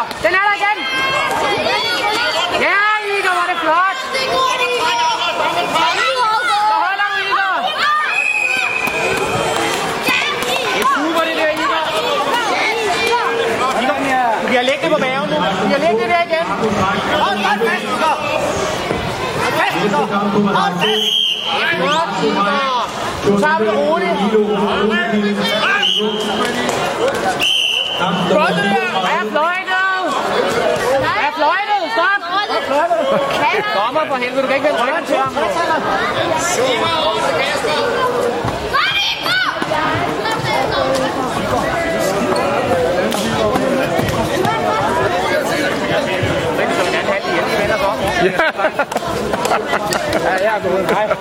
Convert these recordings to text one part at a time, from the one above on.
Den er der igen! Ja, Igor, var det flot! Så holder du, Igor! Det er super, det der, Igor! Du bliver liggende på maven nu. Du bliver liggende der igen. Hold fast, Igor! Hold fast, Igor! Hold fast! Flot, Igor! Du tager det roligt. Godt det der! Hvad er fløjtet? Hvad er fløjtet? Stop! Dommer for helvede, du kan ikke vende ryggen til ham. Ja, jeg er gået. Hej.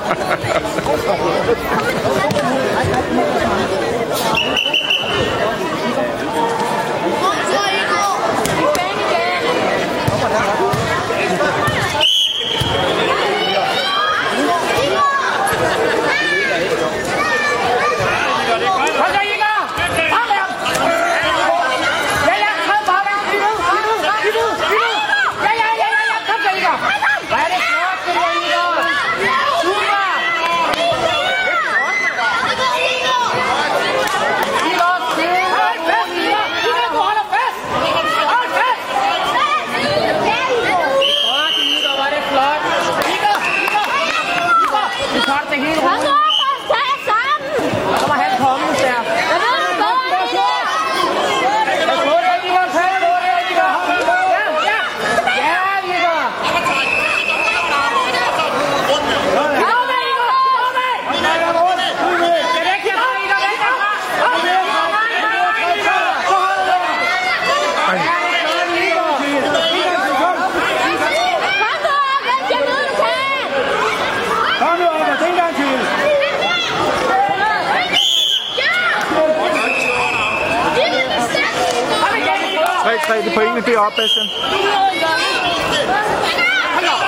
Det pointene deroppe, Bastian.